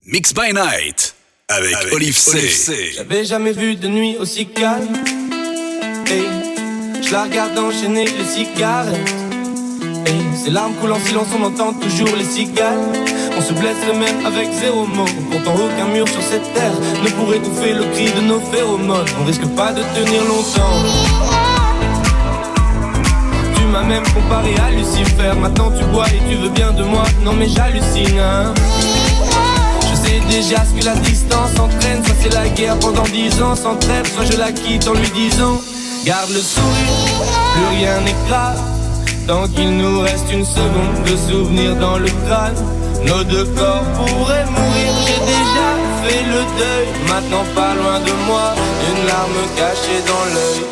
Mix by Night avec Olive C. J'avais jamais vu de nuit aussi calme. Hey, je la regarde enchaîner les cigarettes. Hey, ses larmes coulent en silence, on entend toujours les cigales. On se blesserait même avec zéro mot. Pourtant aucun mur sur cette terre ne pourrait étouffer le cri de nos phéromones. On risque pas de tenir longtemps. Tu m'as même comparé à Lucifer. Maintenant tu bois et tu veux bien de moi. Non mais j'hallucine hein. Je sais déjà ce que la distance entraîne. Soit c'est la guerre pendant 10 ans sans trêve, soit je la quitte en lui disant garde le sourire, plus rien n'est grave. Tant qu'il nous reste une seconde de souvenir dans le crâne, nos deux corps pourraient mourir. J'ai déjà fait le deuil, maintenant pas loin de moi, une larme cachée dans l'œil.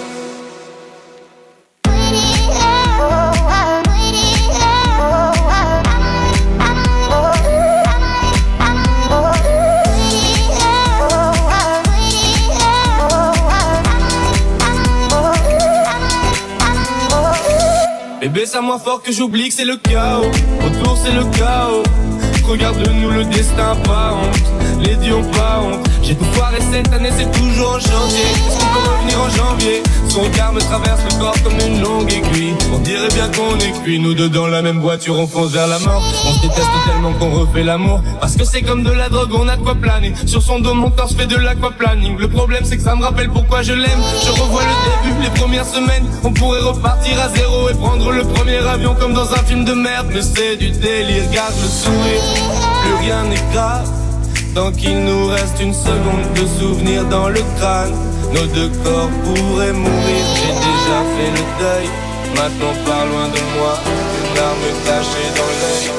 Bébé, ça moins fort que j'oublie que c'est le chaos. Autour c'est le chaos. Regarde-nous le destin, pas honte. Les dieux ont pas honte. J'ai tout foiré cette année, c'est toujours en chantier. Est-ce qu'on peut revenir en janvier? Son regard me traverse le corps comme une longue aiguille. On dirait bien qu'on est cuits. Nous deux dans la même voiture, on fonce vers la mort. On se déteste tellement qu'on refait l'amour. Parce que c'est comme de la drogue, on a de quoi planer. Sur son dos, mon torse fait de l'aquaplaning. Le problème c'est que ça me rappelle pourquoi je l'aime. Je revois le début, les premières semaines. On pourrait repartir à zéro et prendre le premier avion comme dans un film de merde. Mais c'est du délire, garde le sourire. Plus rien n'est grave. Tant qu'il nous reste une seconde de souvenir dans le crâne, nos deux corps pourraient mourir. J'ai déjà fait le deuil, maintenant pas loin de moi, une larme cachée dans l'œil.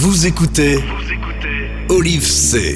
Vous écoutez Olive C.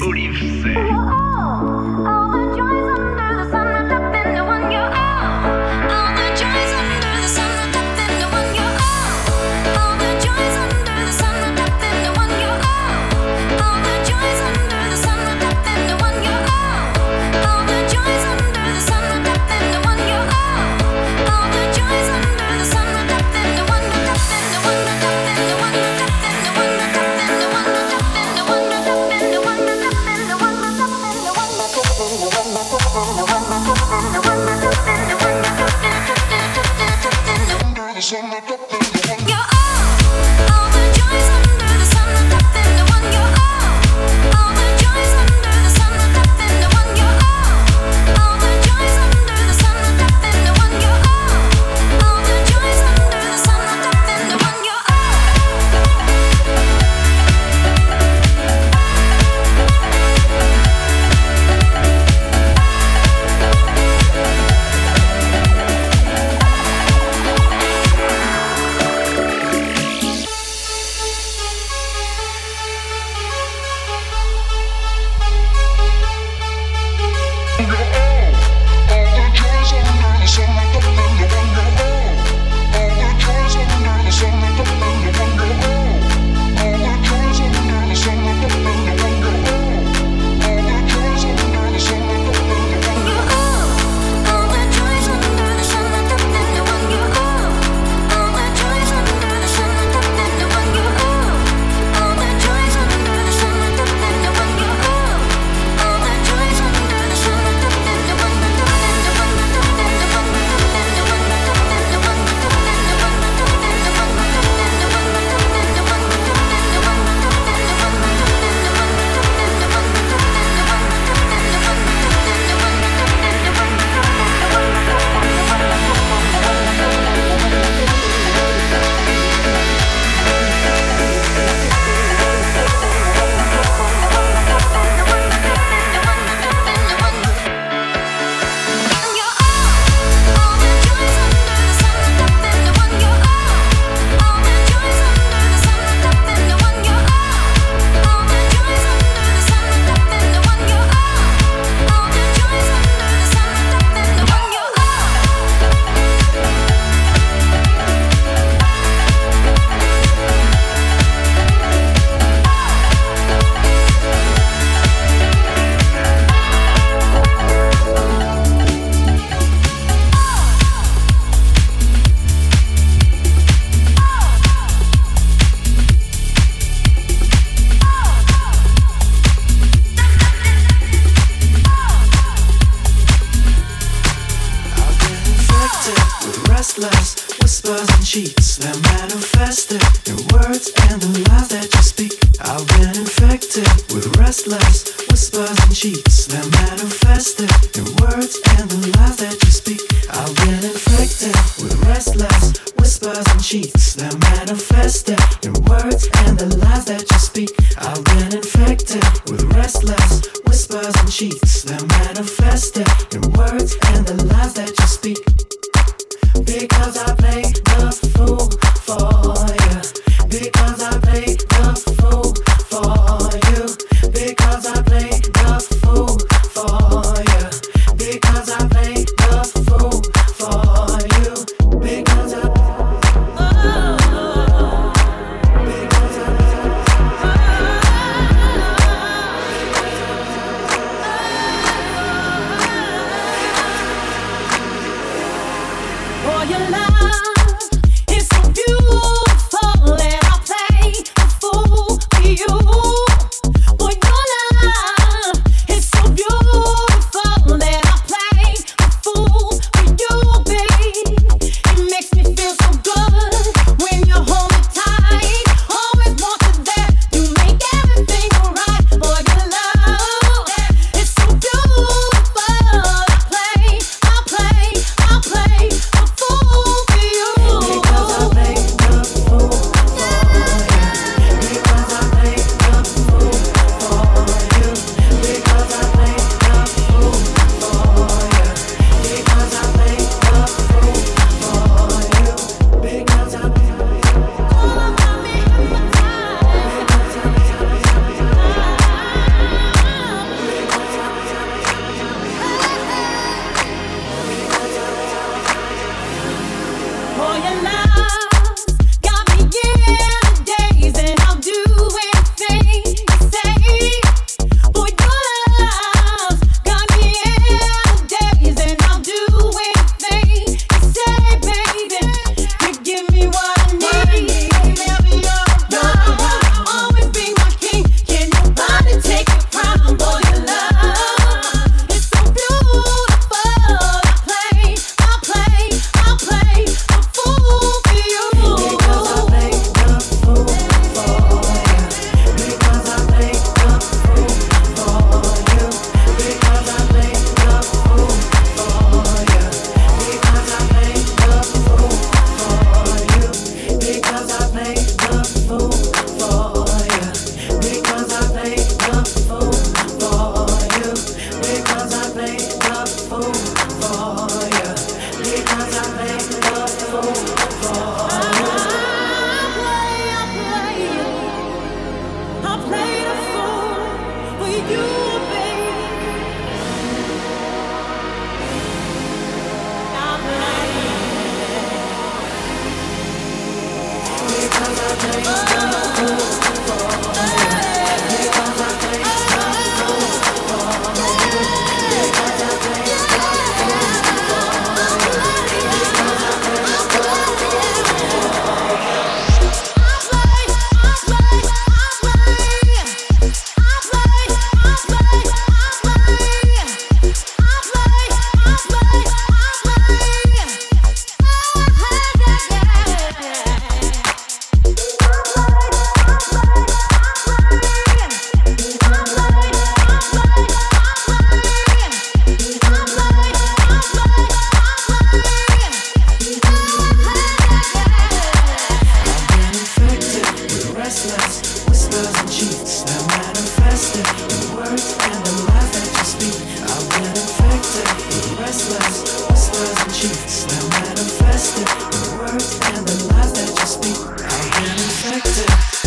whispers and cheats that manifested in words and the lies that you speak. I've been infected with restless whispers and cheats that manifested in words and the lies that you speak. I've been infected,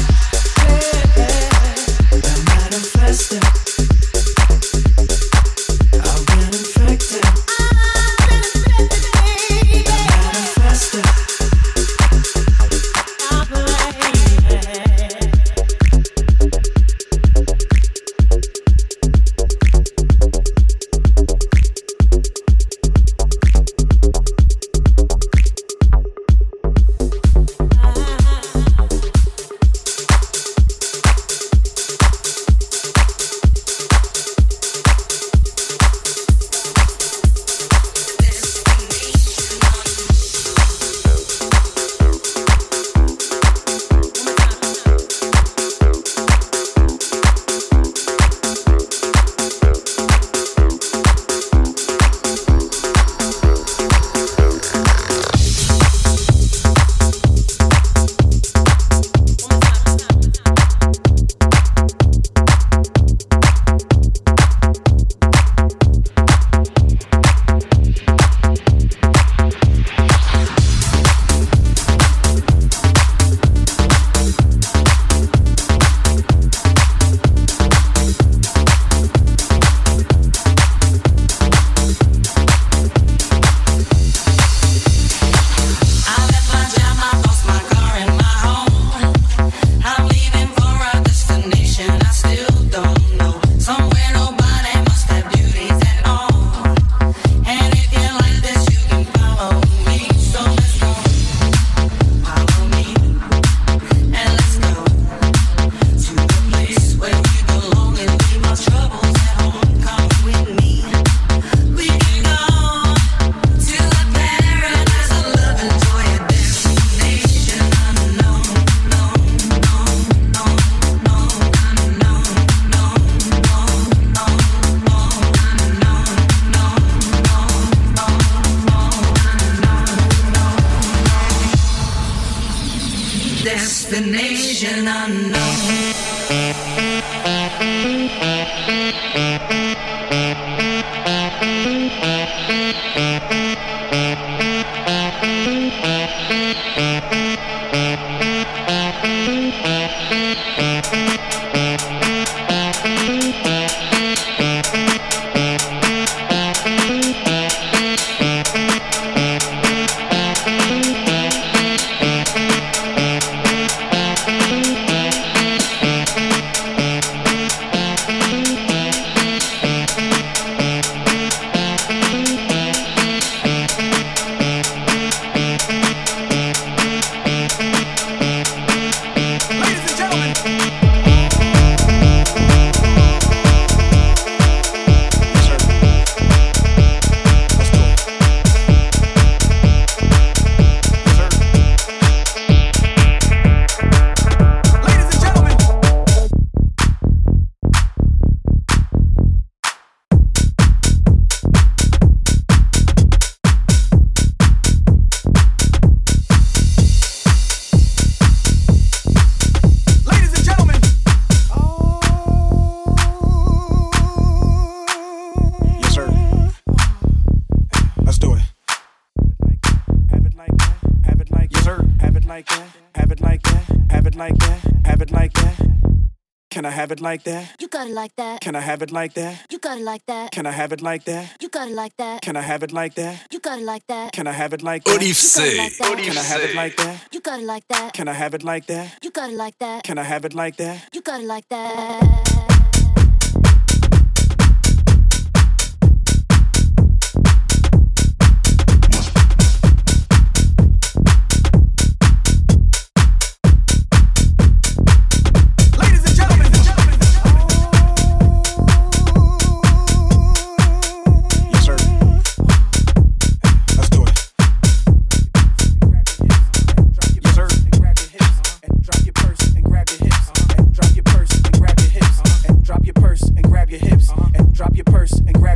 that manifested. I've been infected, that manifested. Destination unknown. Can I have it like that? You got it like that. Can I have it like that? You got it like that. Can I have it like that? You got it like that. Can I have it like that? You got it like that. Can I have it like that? Olive C. Can I have it like that? You got it like that. Can I have it like that? You got it like that. Can I have it like that? You got it like that. Drop your purse and grab your hips.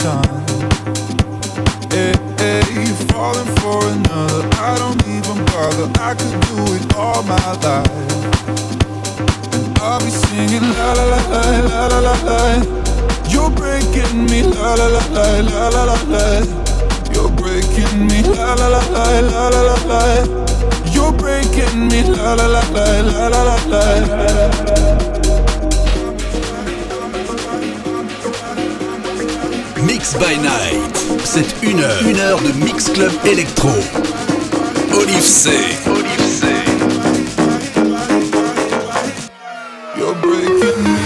time. Hey, hey, you're falling for another. I don't even bother. I could do it all my life. And I'll be singing la la la la la la la la. You're breaking me la la la la la la la la. You're breaking me la la la la la la la la. You're breaking me la la la la la la la la. Mix by Night, c'est une heure de Mix Club Electro. Olive C. You're breaking me.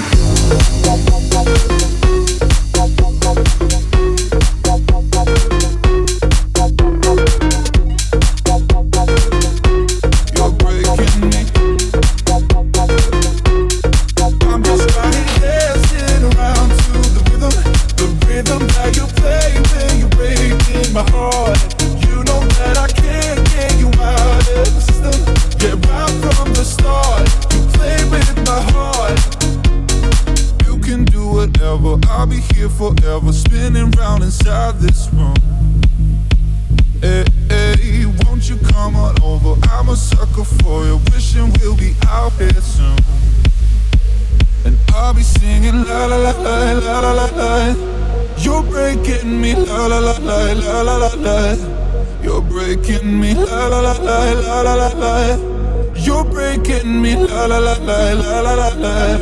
Forever spinning round inside this room. Hey, hey, won't you come on over? I'm a sucker for you, wishing we'll be out here soon. And I'll be singing la la la la la la la la. You're breaking me la la la la la la la la. You're breaking me la la la la la la la la. You're breaking me la la la la la la la la.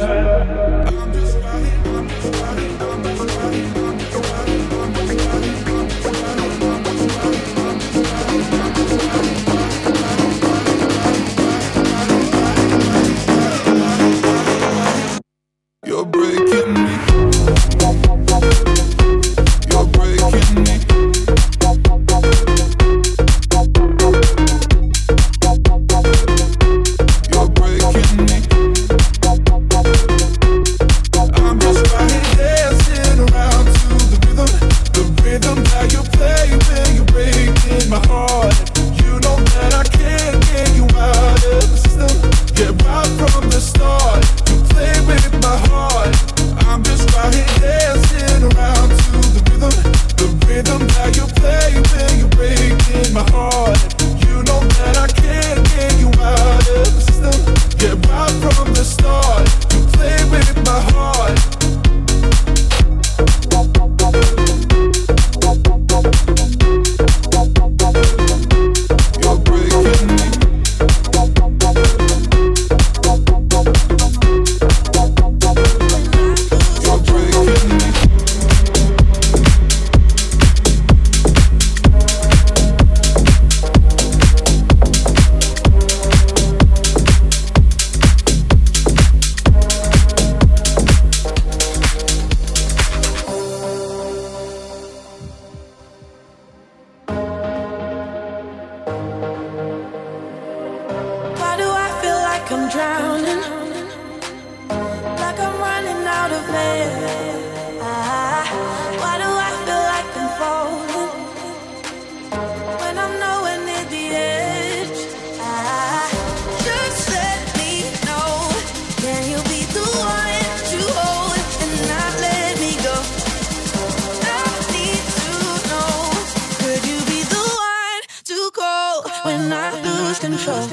You're breaking me. You're breaking me. You're breaking me. I'm just right here dancing around to the rhythm that you play when you're breaking my heart. You know that I can't get you out of the system. Yeah, right from the start. Play with my heart. I'm just right here dancing around to the rhythm that you play when you're breaking my heart. You know that I can't get you out of the system. Yeah, right from the start. You play with my heart. You're breaking me. I'm drowning, like I'm running out of air. Why do I feel like I'm falling when I'm nowhere near the edge? Just let me know, can you be the one to hold and not let me go? I need to know, could you be the one to call when I lose control?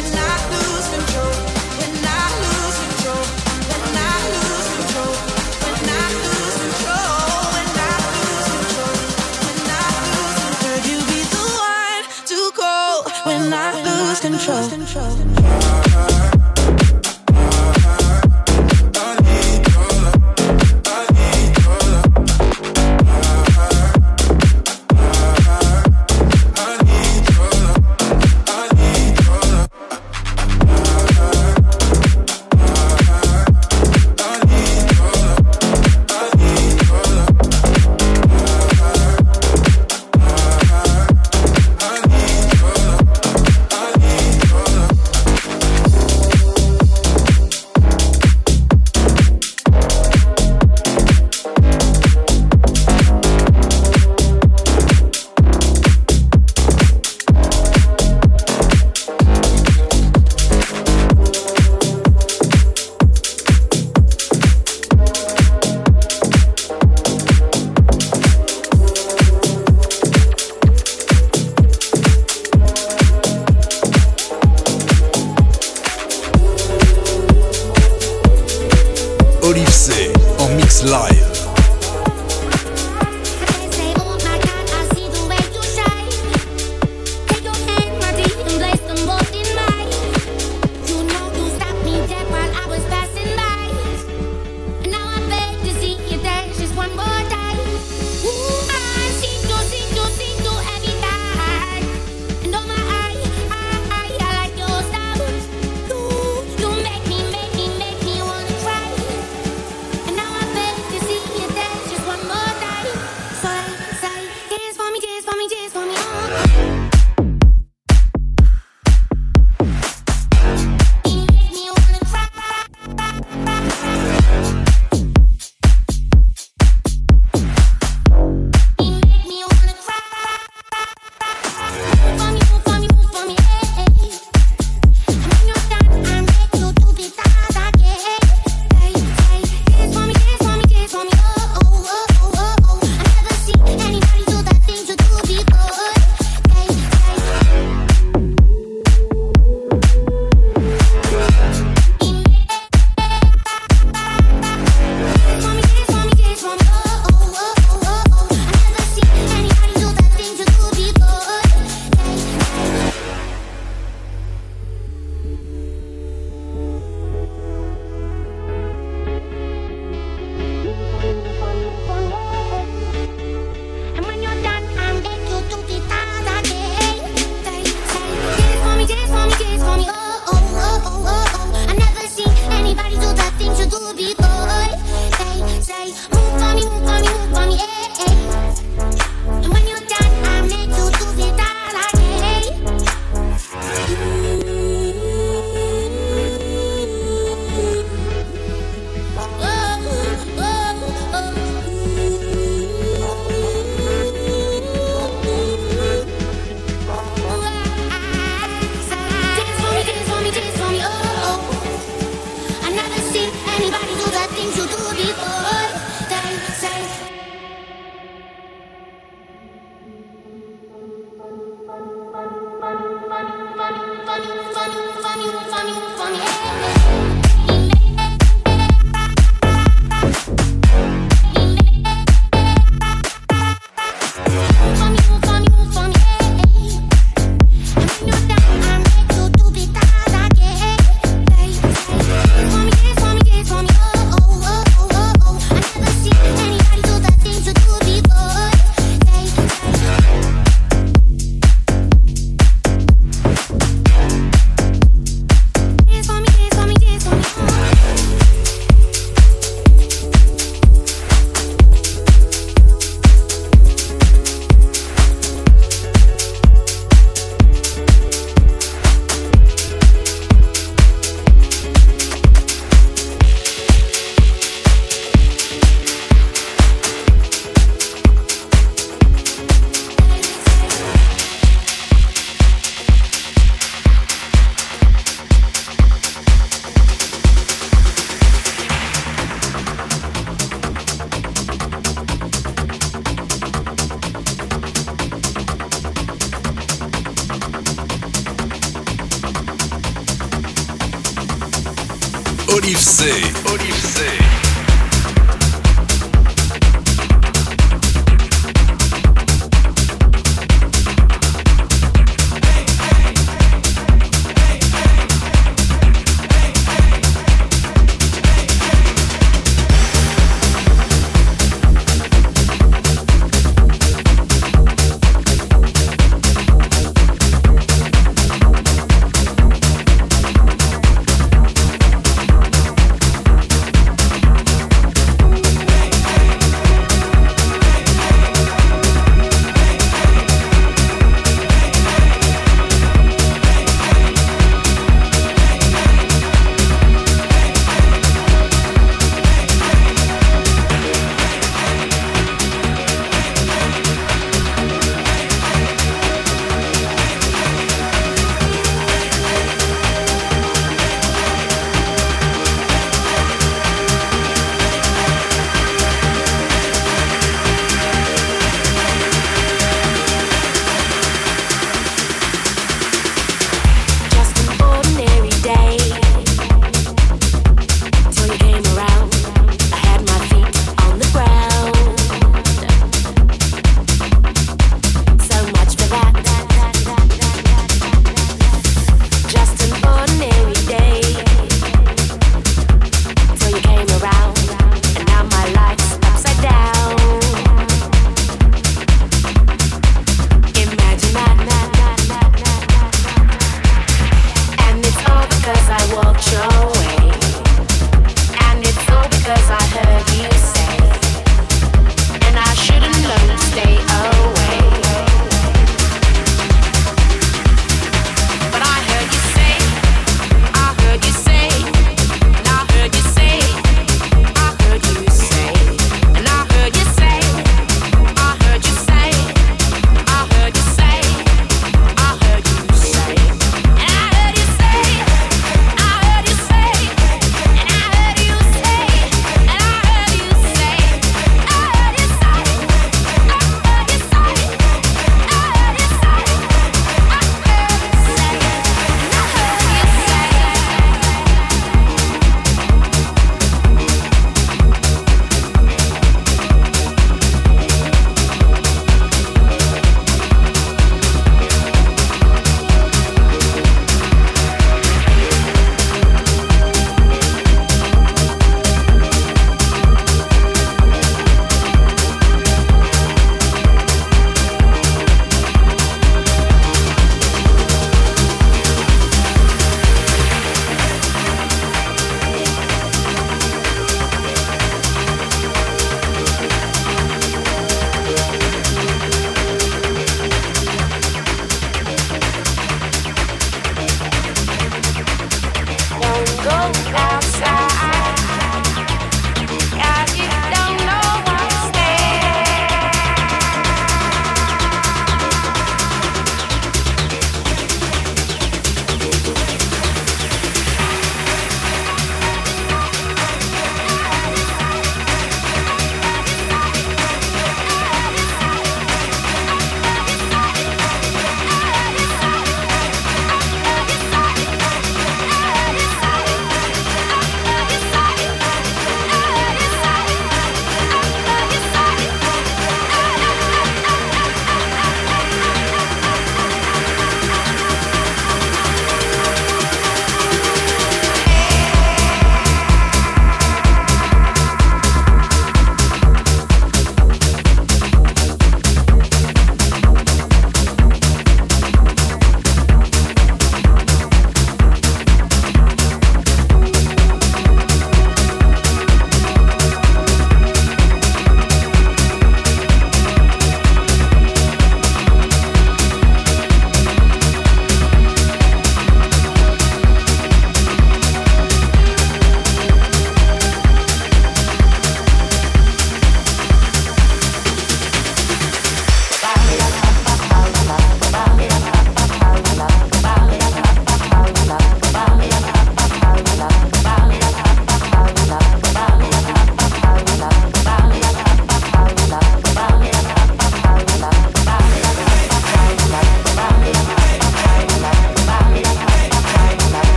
See Olive C. Olive C.